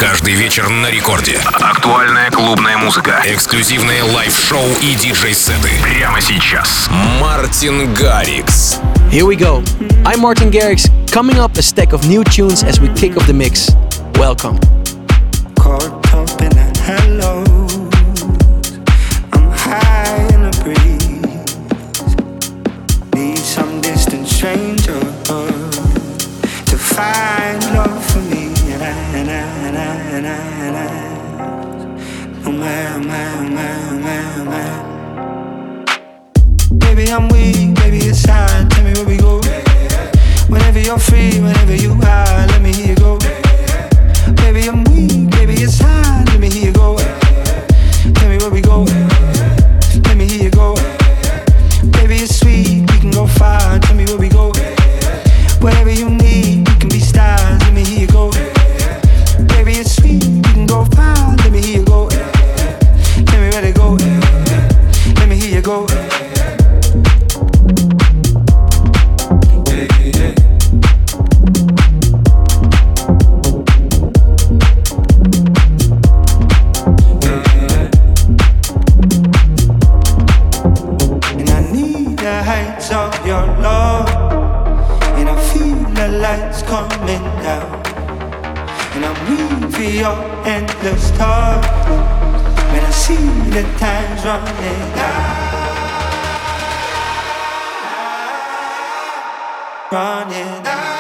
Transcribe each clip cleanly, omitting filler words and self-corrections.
Каждый вечер на рекорде. Актуальная клубная музыка. Эксклюзивные лайв-шоу и диджей-сеты. Прямо сейчас. Мартин Гаррикс. Here we go. I'm Martin Garrix. Coming up, a stack of new tunes as we kick off the mix. Welcome. Caught up in a hello. I'm high in the breeze. Need some distant stranger to find love for me. And I. Oh man. Baby, I'm weak. Baby, it's hard. Tell me where we go. Whenever you're free, whenever you are, let me hear you go. Baby, I'm weak, baby, it's hard. Let me hear you go. Tell me where we go. Let me hear you go. Baby, it's sweet, we can go far. Tell me where we go. Whatever you need, we can be stars. Let me hear you go. Baby, it's sweet, we can go far. Let me hear you go. Tell me where to go. Let me hear you go. Of your love, and I feel the lights coming down, and I'm waiting for your endless touch. When I see the time's running out, running out.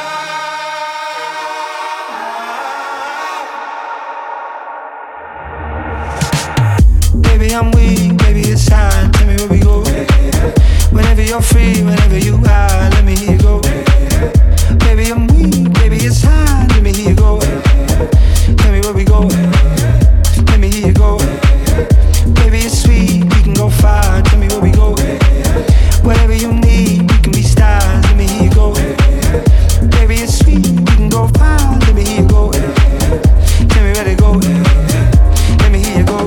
Baby, I'm weak, baby, it's time. Tell me where we go. Whenever you're free, whenever you are, let me hear you go. Baby, I'm weak, baby, it's hard, let me hear you go. Tell me where we go. Let me hear you go. Baby, it's sweet, we can go far. Tell me where we go. Whatever you need, we can be stars. Let me hear you go. Baby, it's sweet, we can go far. Let me hear you go. Tell me where to go. Let me hear you go.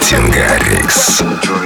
Мартин Гаррикс.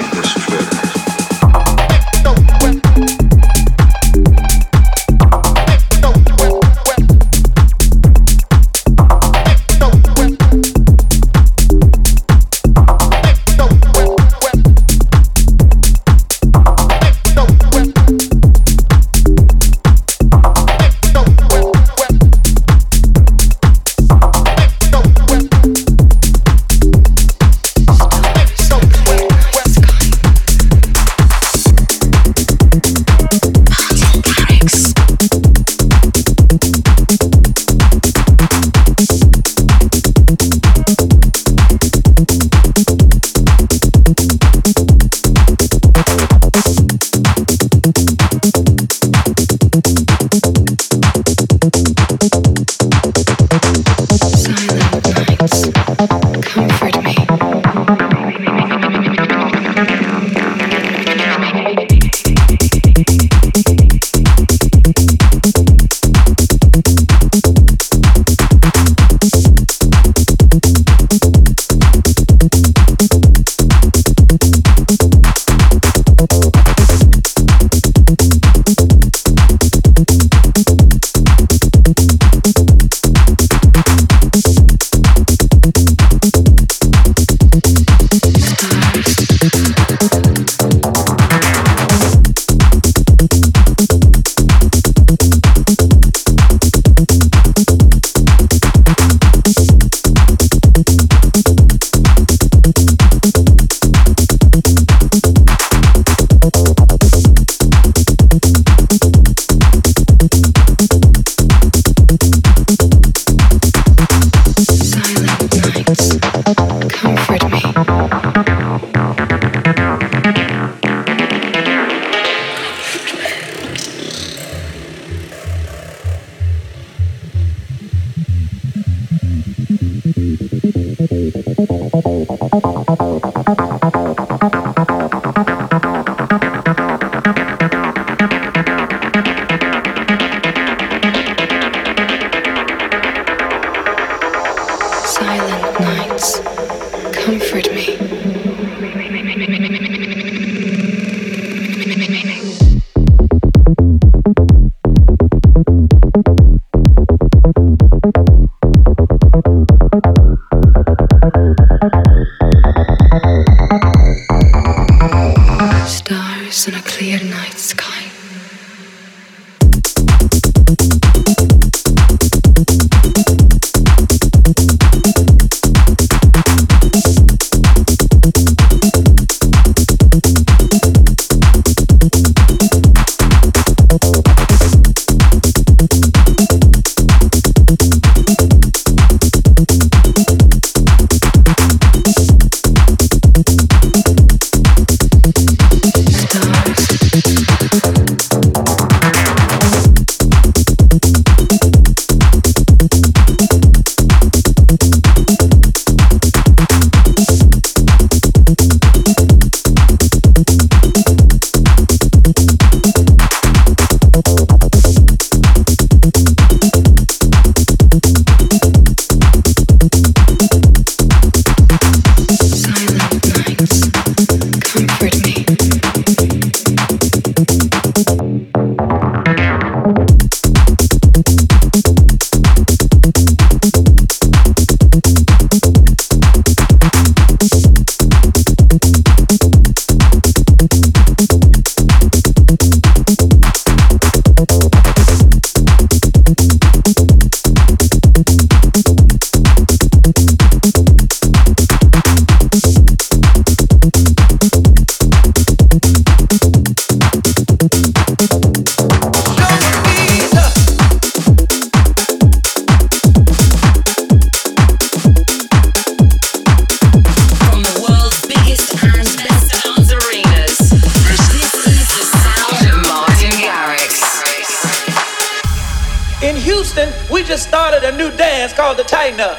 Called the tighten up.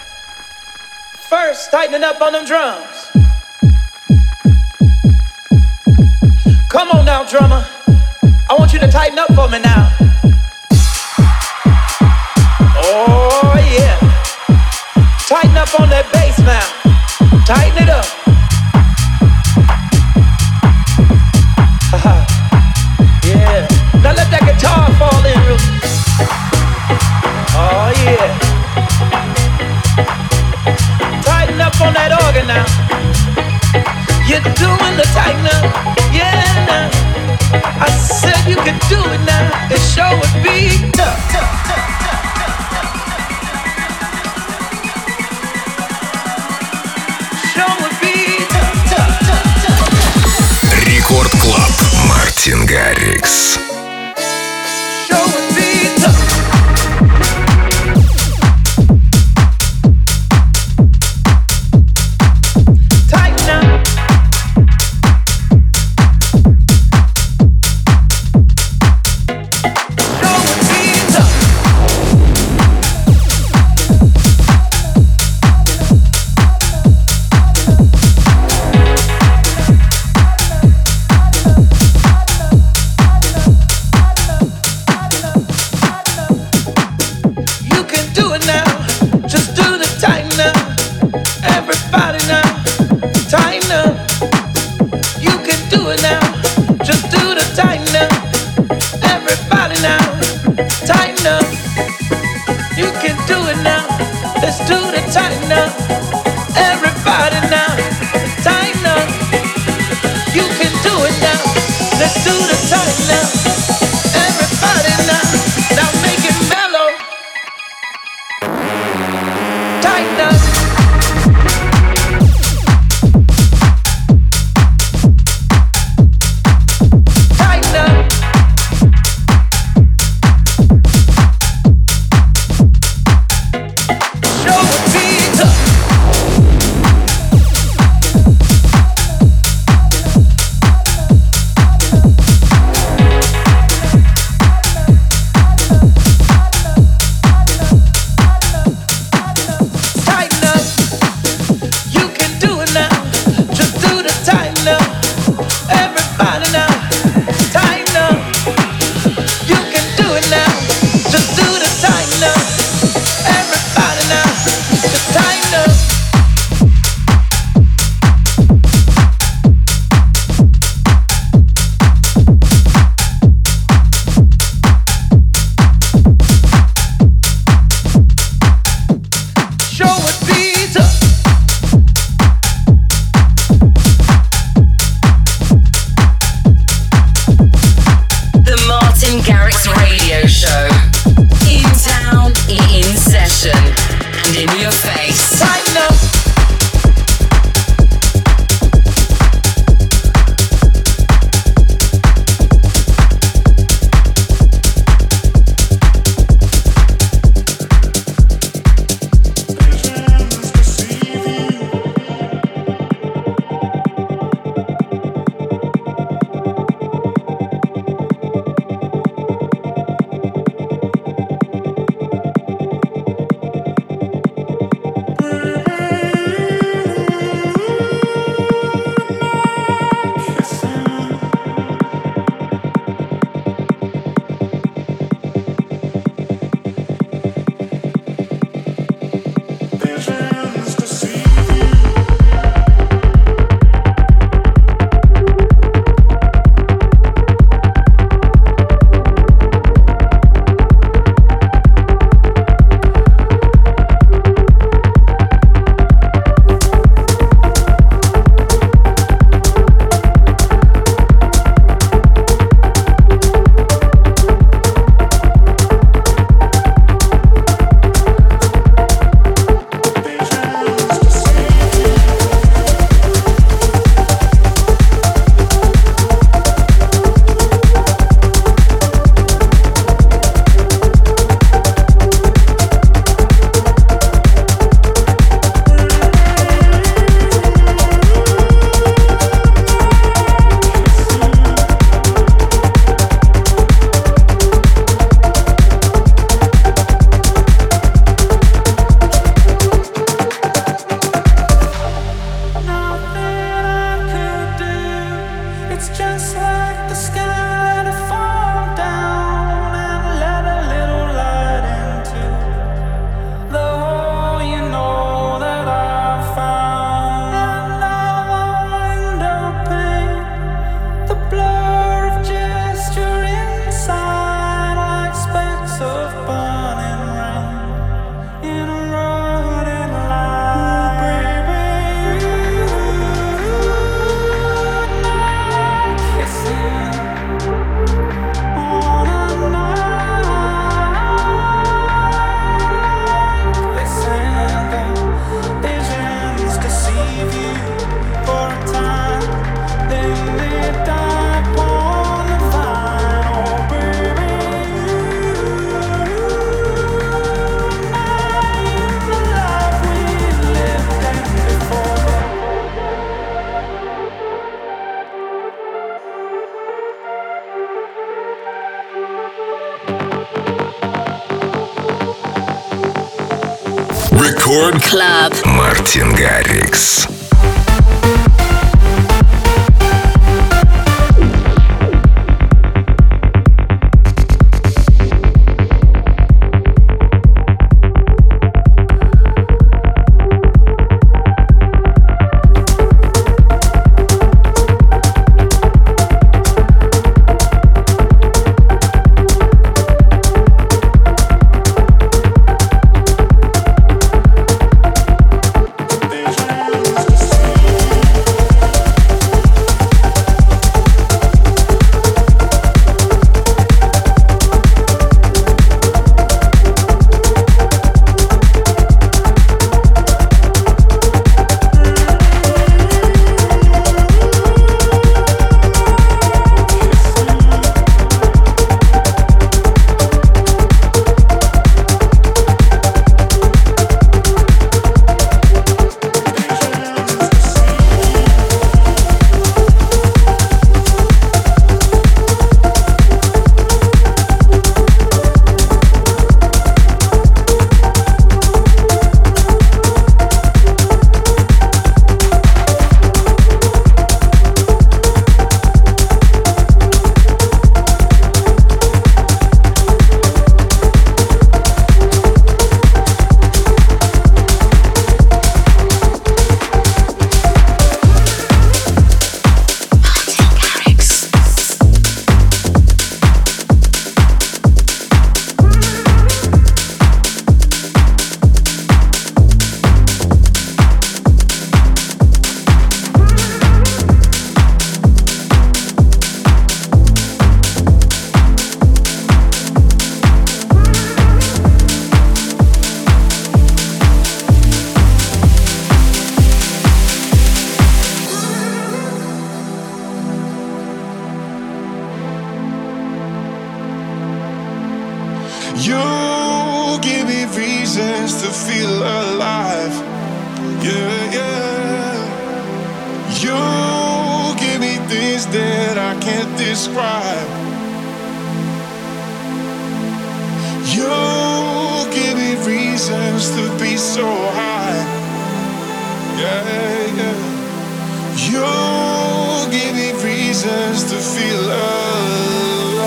First, tightening up on them drums. Come on now, drummer. I want you to tighten up for me now. Oh yeah. Tighten up on that bass now. Tighten it up. Мартин Гаррикс. Record Club. Мартин Гаррикс. You give me reasons to feel alive. Yeah, yeah. You give me things that I can't describe. You give me reasons to be so high. Yeah, yeah. You give me reasons to feel alive.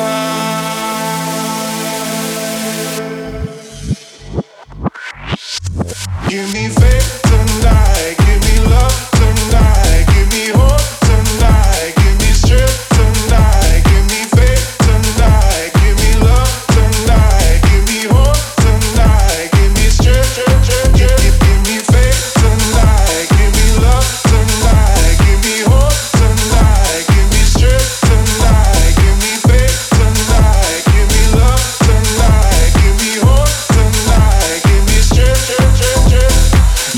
Give me faith tonight, give me love tonight, give me hope tonight, give me strength tonight, give me faith tonight, give me love tonight, give me hope tonight, give me strength, give me faith tonight, give me love tonight, give me hope tonight, give me strength tonight, give me faith tonight, give me love tonight, give me hope tonight, give me strength.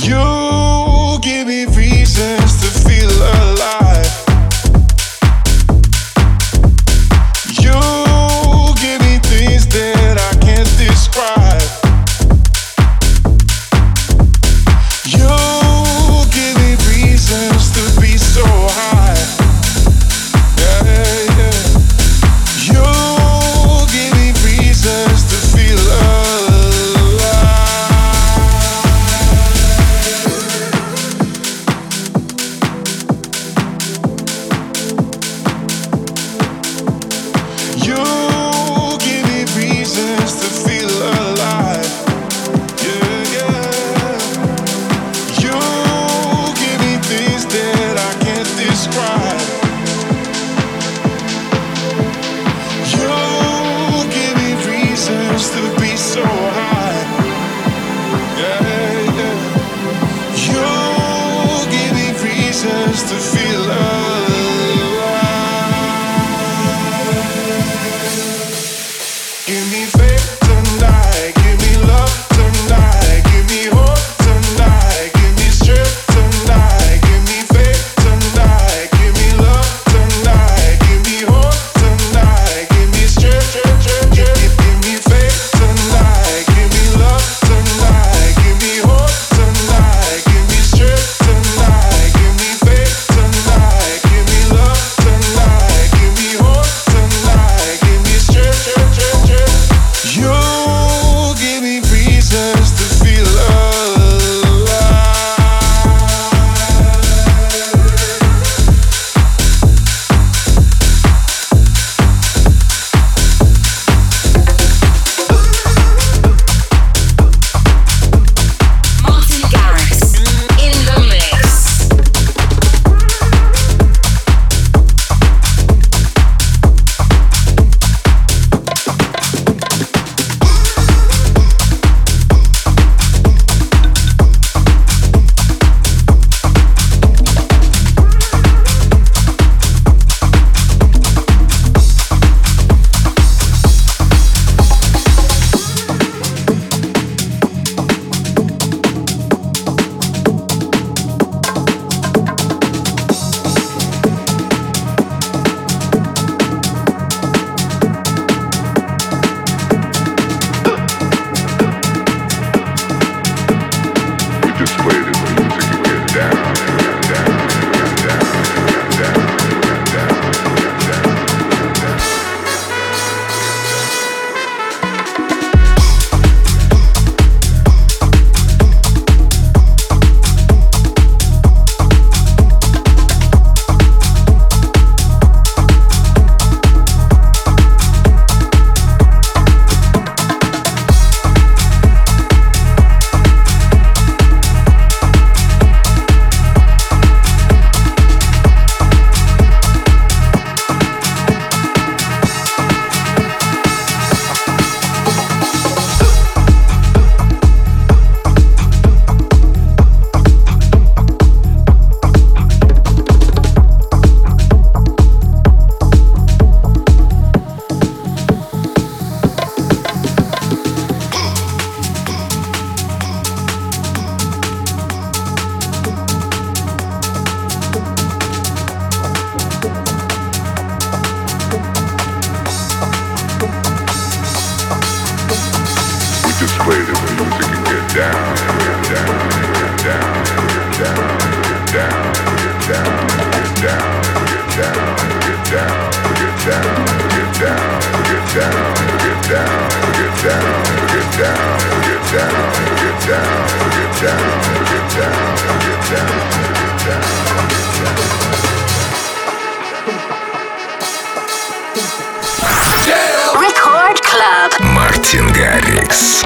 Record Club. Мартин Гаррикс.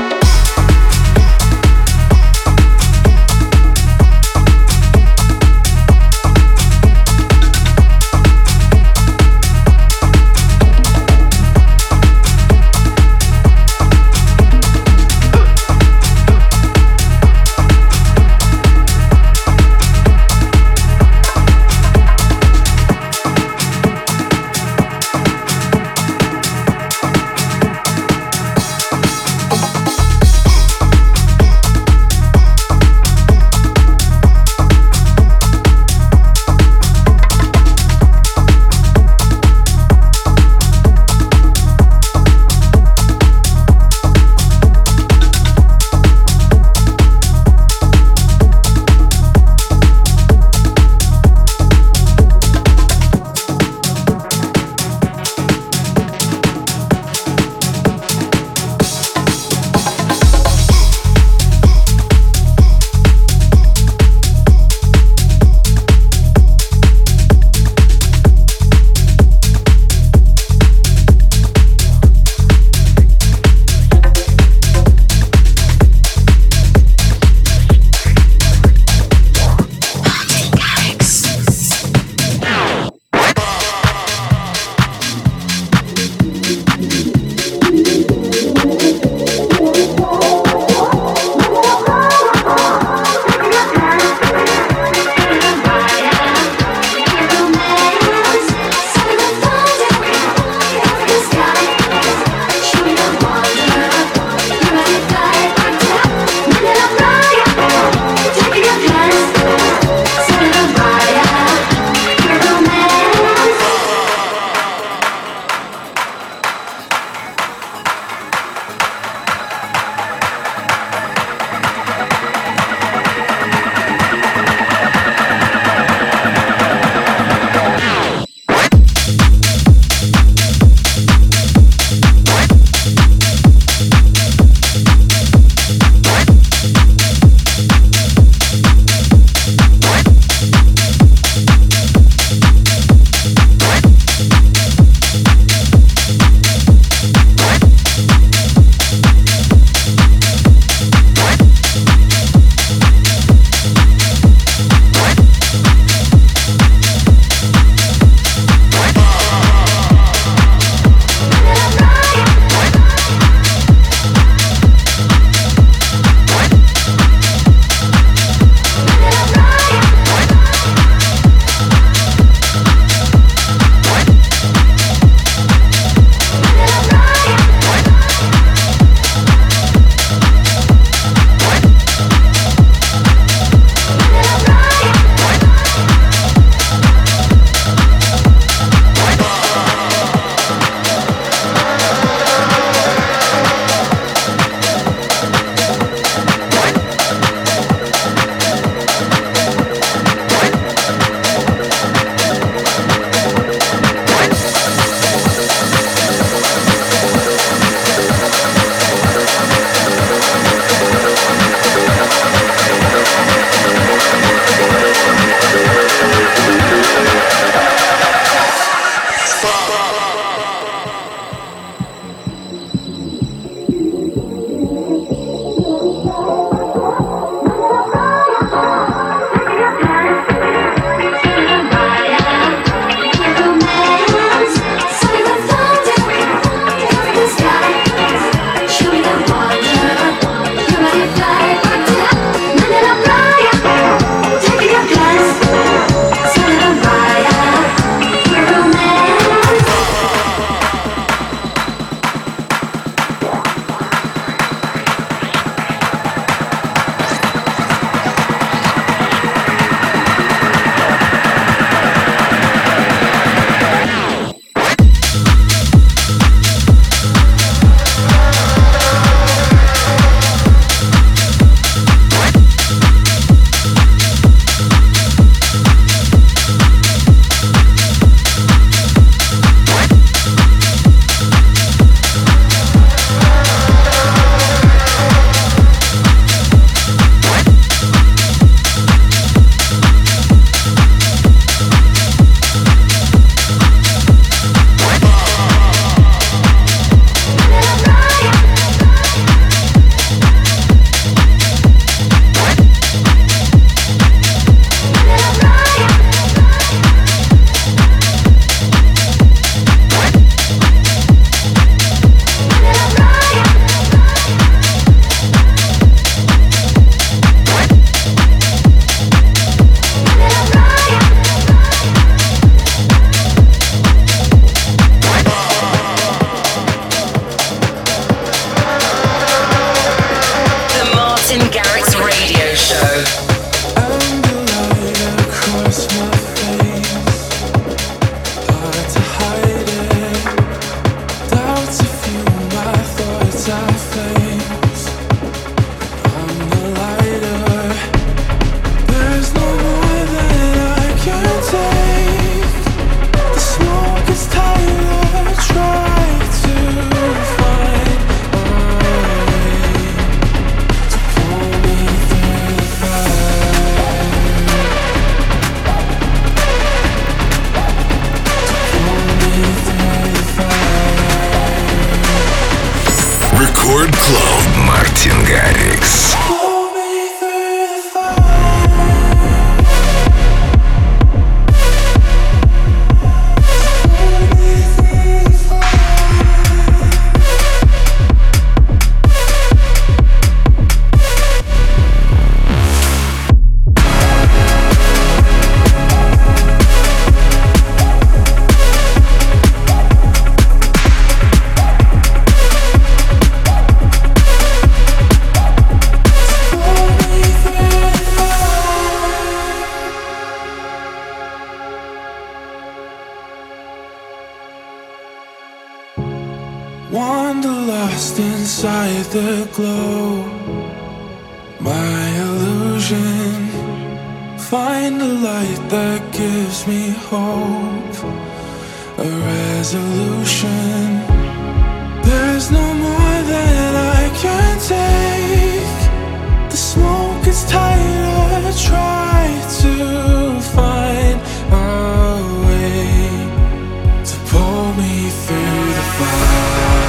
the glow, my illusion. Find a light that gives me hope, a resolution. There's no more that I can take. The smoke is tighter. Try to find a way to pull me through the fire.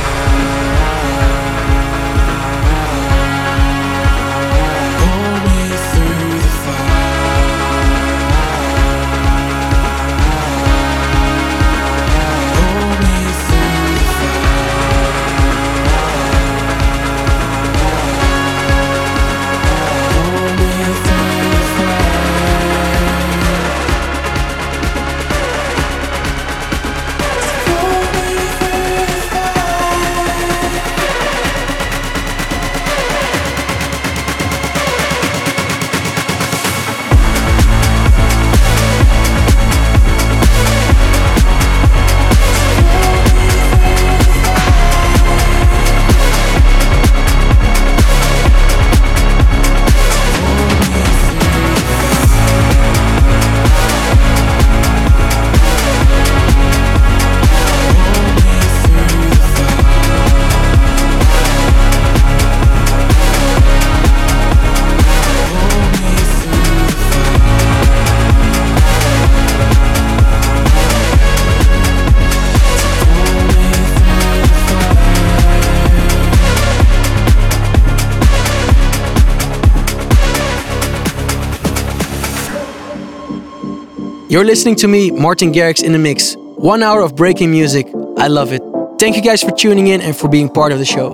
Pull me through the fire. Pull me through the You're listening to me, Martin Garrix, in the mix. 1 hour of breaking music. I love it. Thank you guys for tuning in and for being part of the show.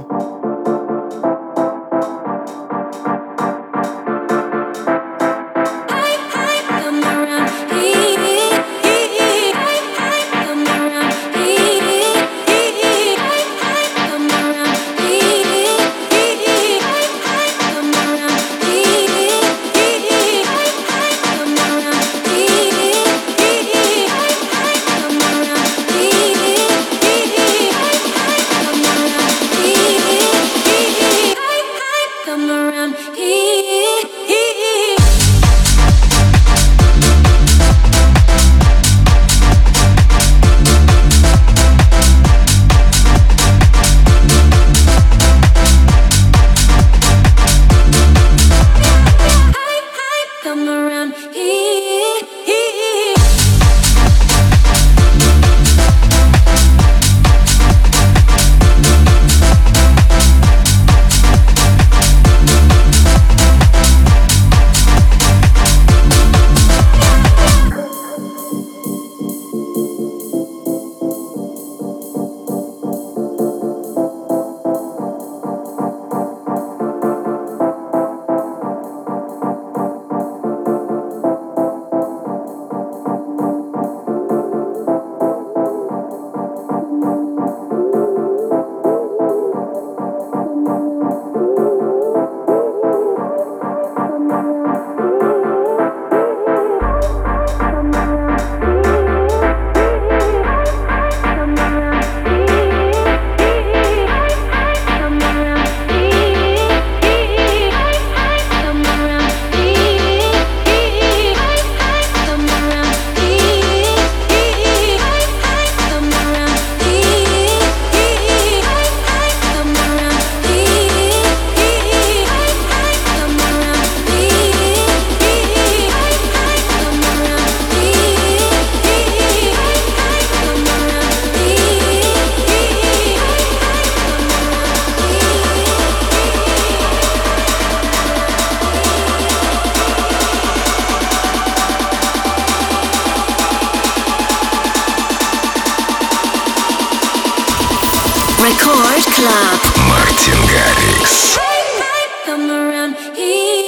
Record Club. Мартин Гаррикс. Come around here.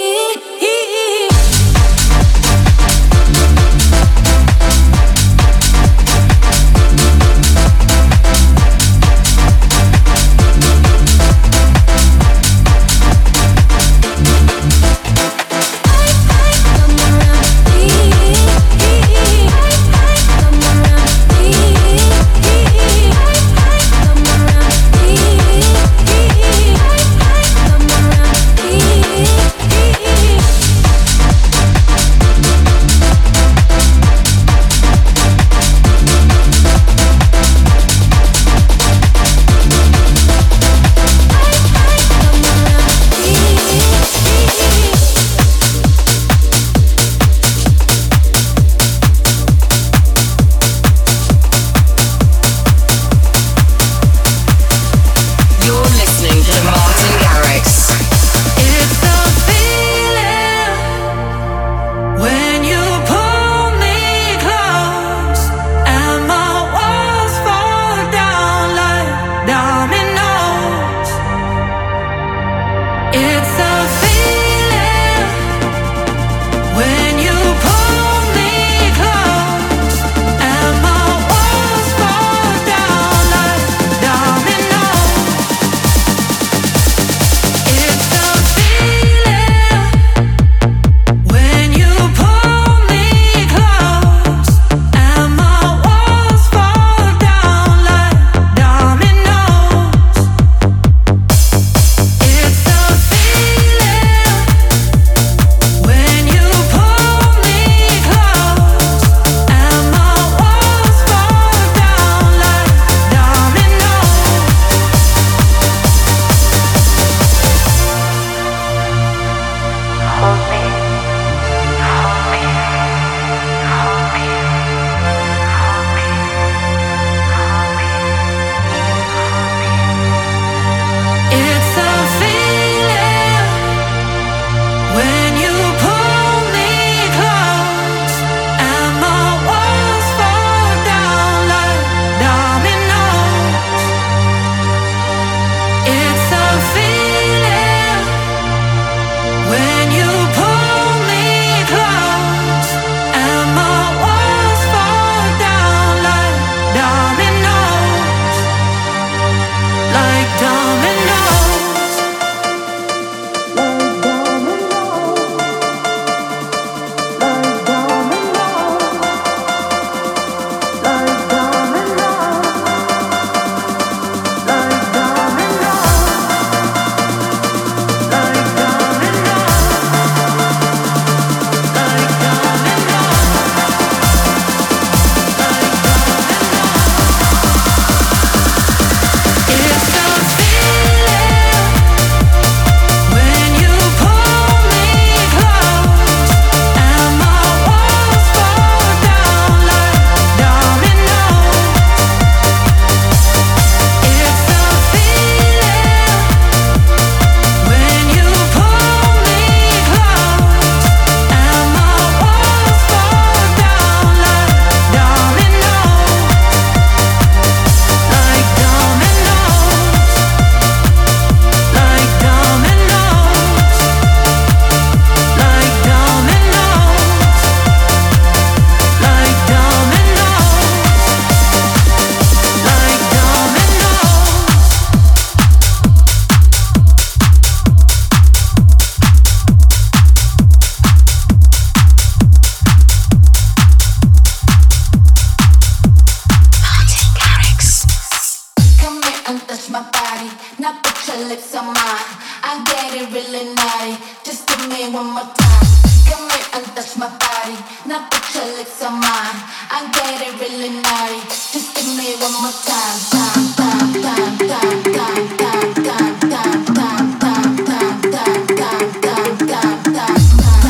and touch my body. Now put your lips on mine. I get it really naughty. Just give me one more time. Time, time, time, time, time, time, time, time, time, time, time, time, time, time, time.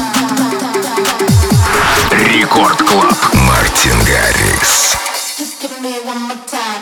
Рекорд Клаб. Мартин Гаррикс. Just give me one more time.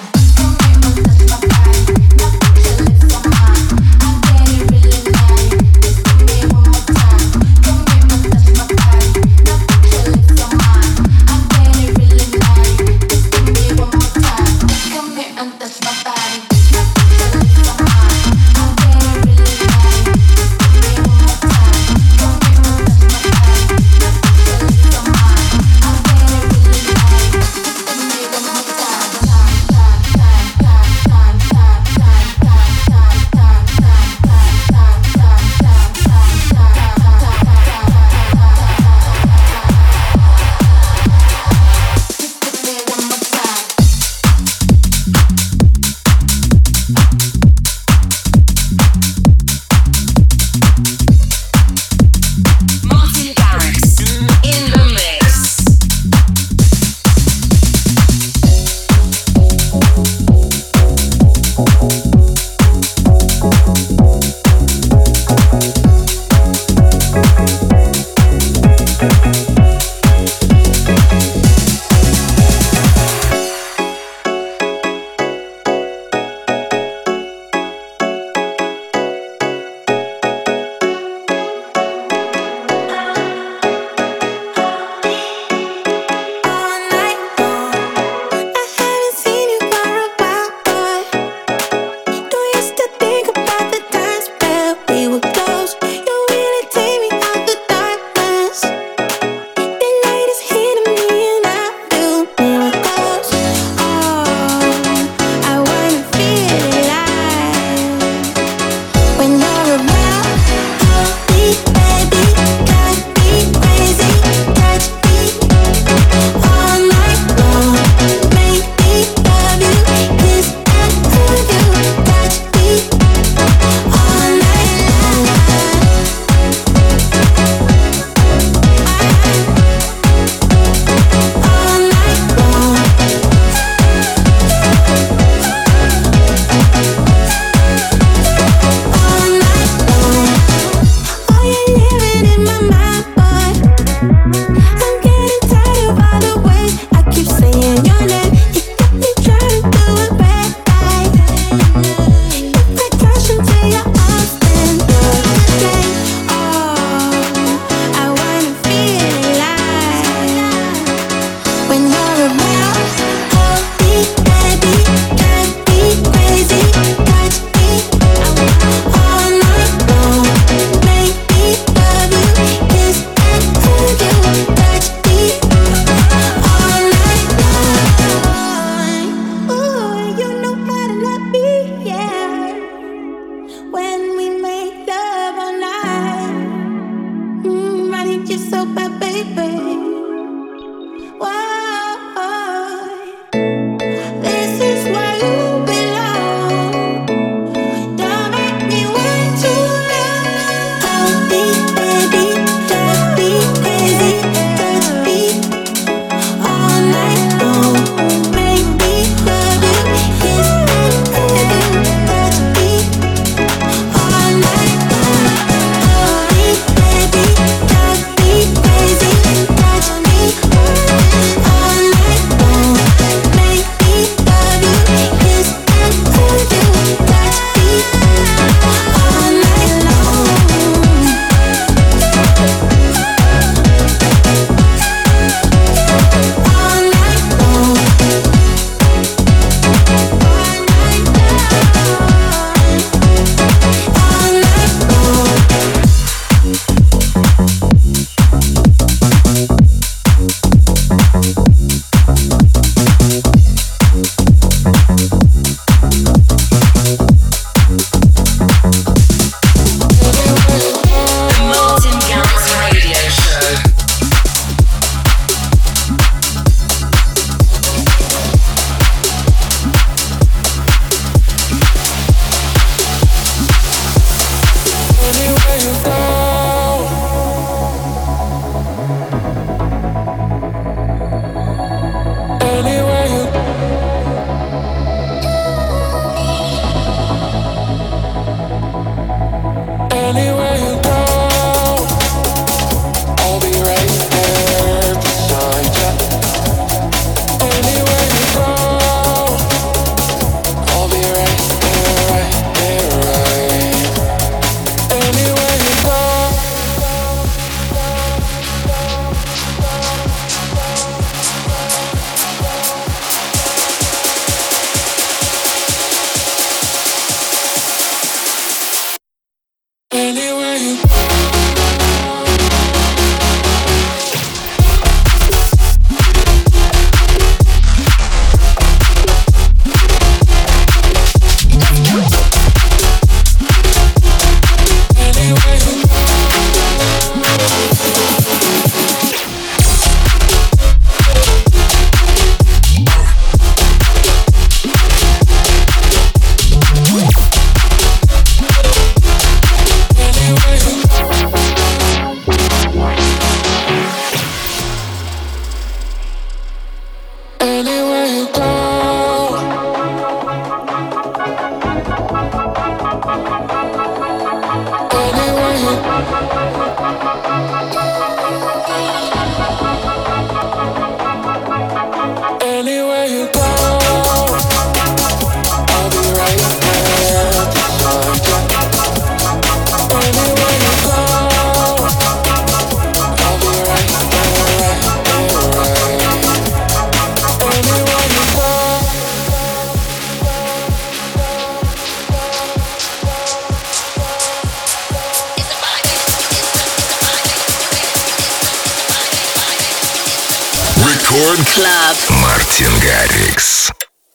Рекорд Клаб. Мартин Гаррикс.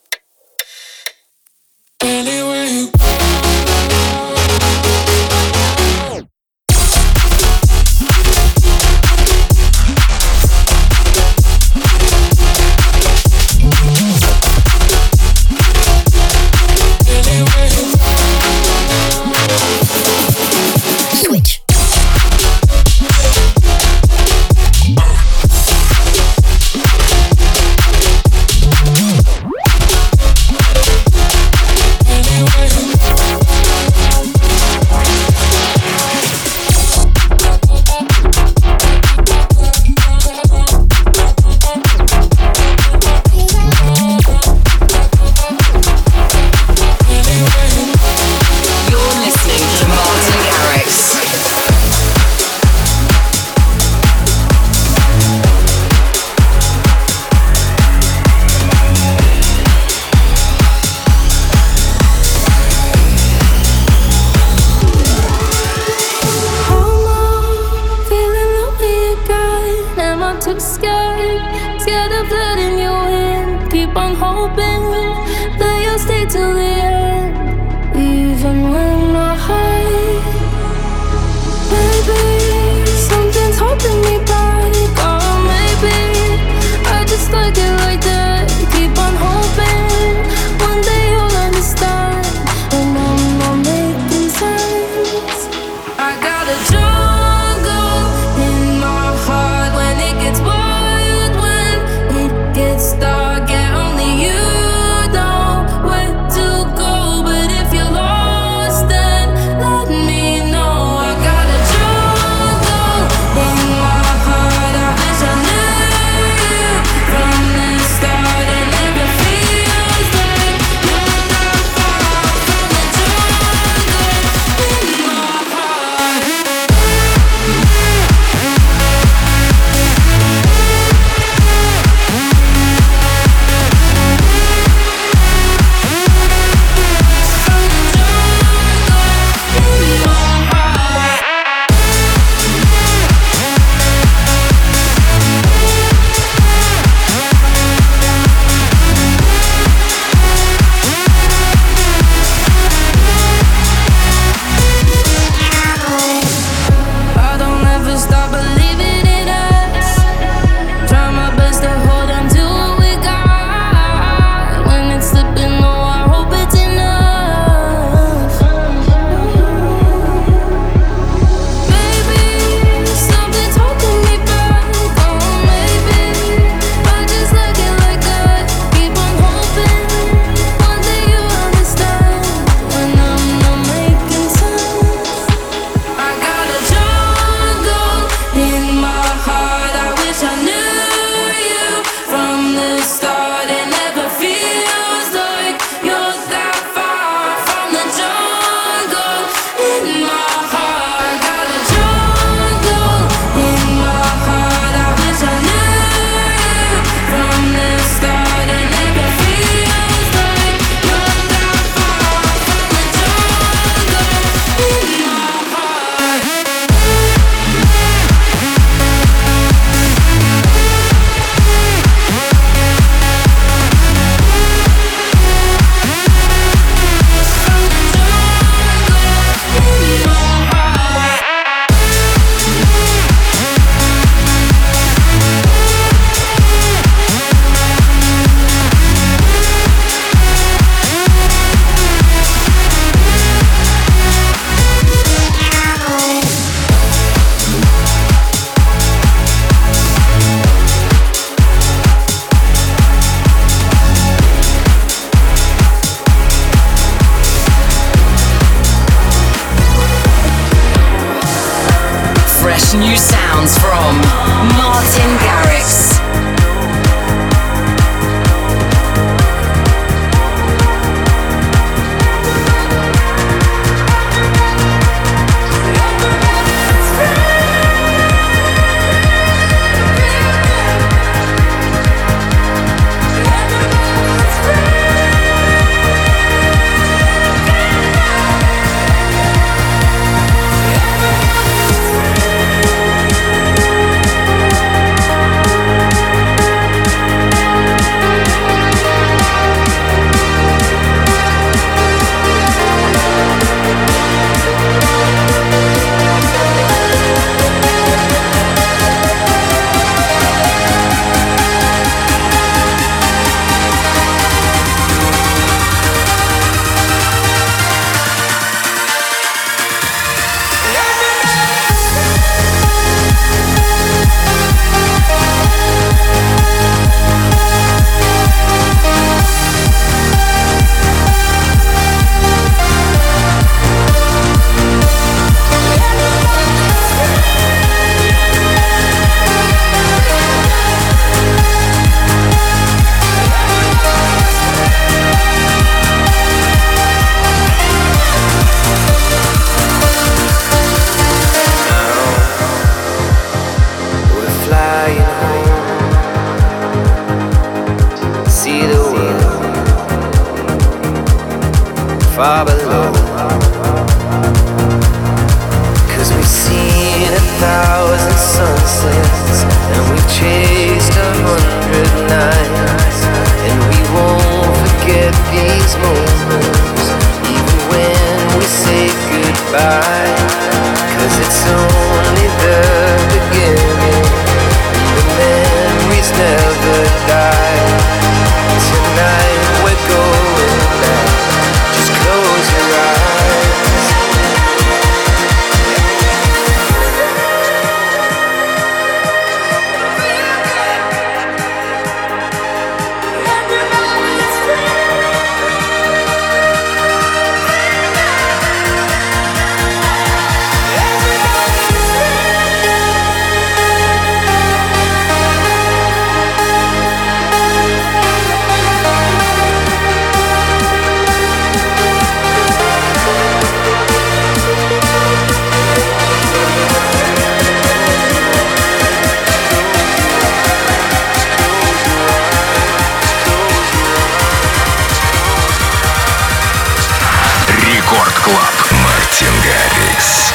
New sounds from Martin Garrix. far below. 'Cause we've seen 1,000 sunsets, and we've chased 100 nights, and we won't forget these moments, even when we say goodbye. 'Cause it's only the beginning, and the memories never die. Tonight we're going back, just close your eyes. Рекорд Клаб. Мартин Гаррикс.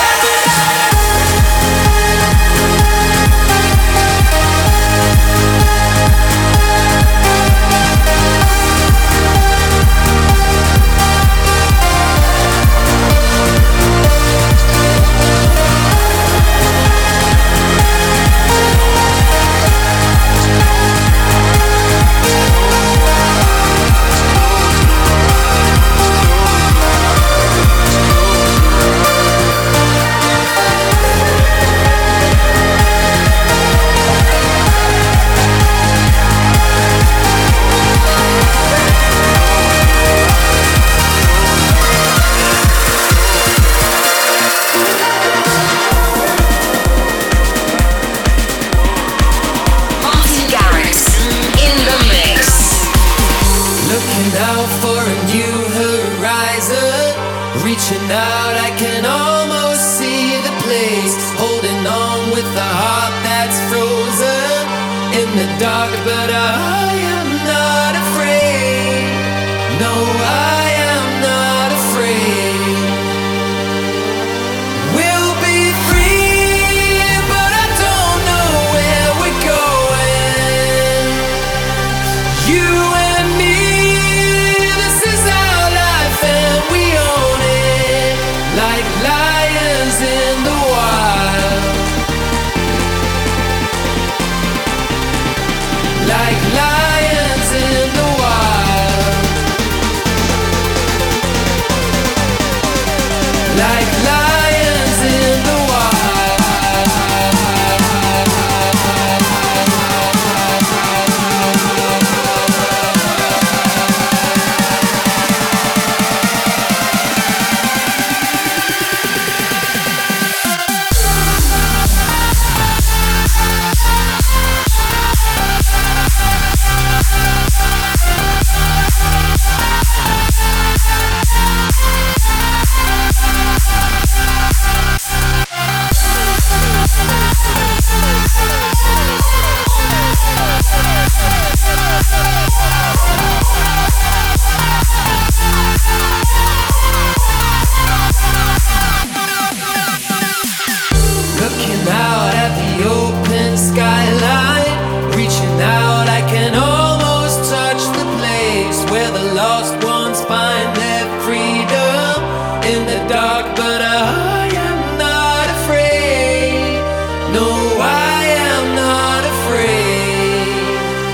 Martin Garrix in the mix. Looking out for a new horizon, reaching out, I can almost see the place, holding on with a heart that's frozen in the dark, but I am not afraid. No, I am not afraid. We'll be free, but I don't know where we're going. You and me, this is our life and we own it, like lions in the wild. Like lions in the wild. Like lions in the Looking out at the open skyline, reaching out, I can almost touch the place where the lost ones find their freedom in the dark, but I am not afraid. No, I am not afraid.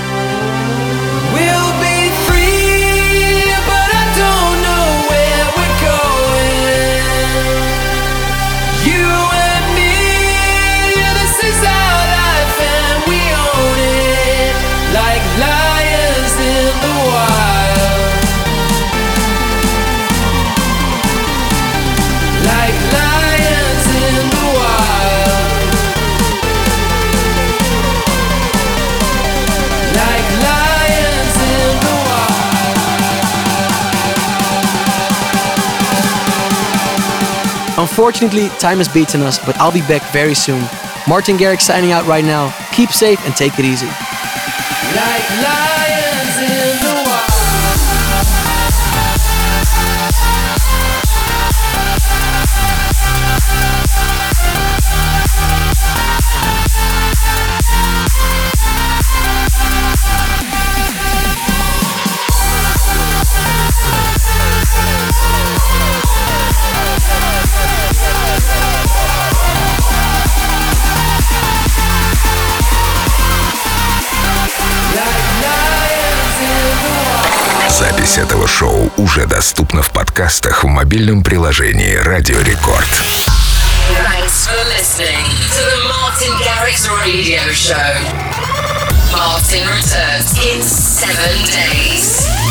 We'll be free, but I don't know where we're going. You and me, this is our life and we own it, like lions in the wild. Like lions in the wild. Like lions in the wild. Unfortunately, time has beaten us, but I'll be back very soon. Martin Garrix signing out right now. Keep safe and take it easy. Like lions in the wild. Запись этого шоу уже доступна в подкастах в мобильном приложении Радио Рекорд. Thanks for listening to the Martin Garrix Radio Show. Martin returns in 7 days.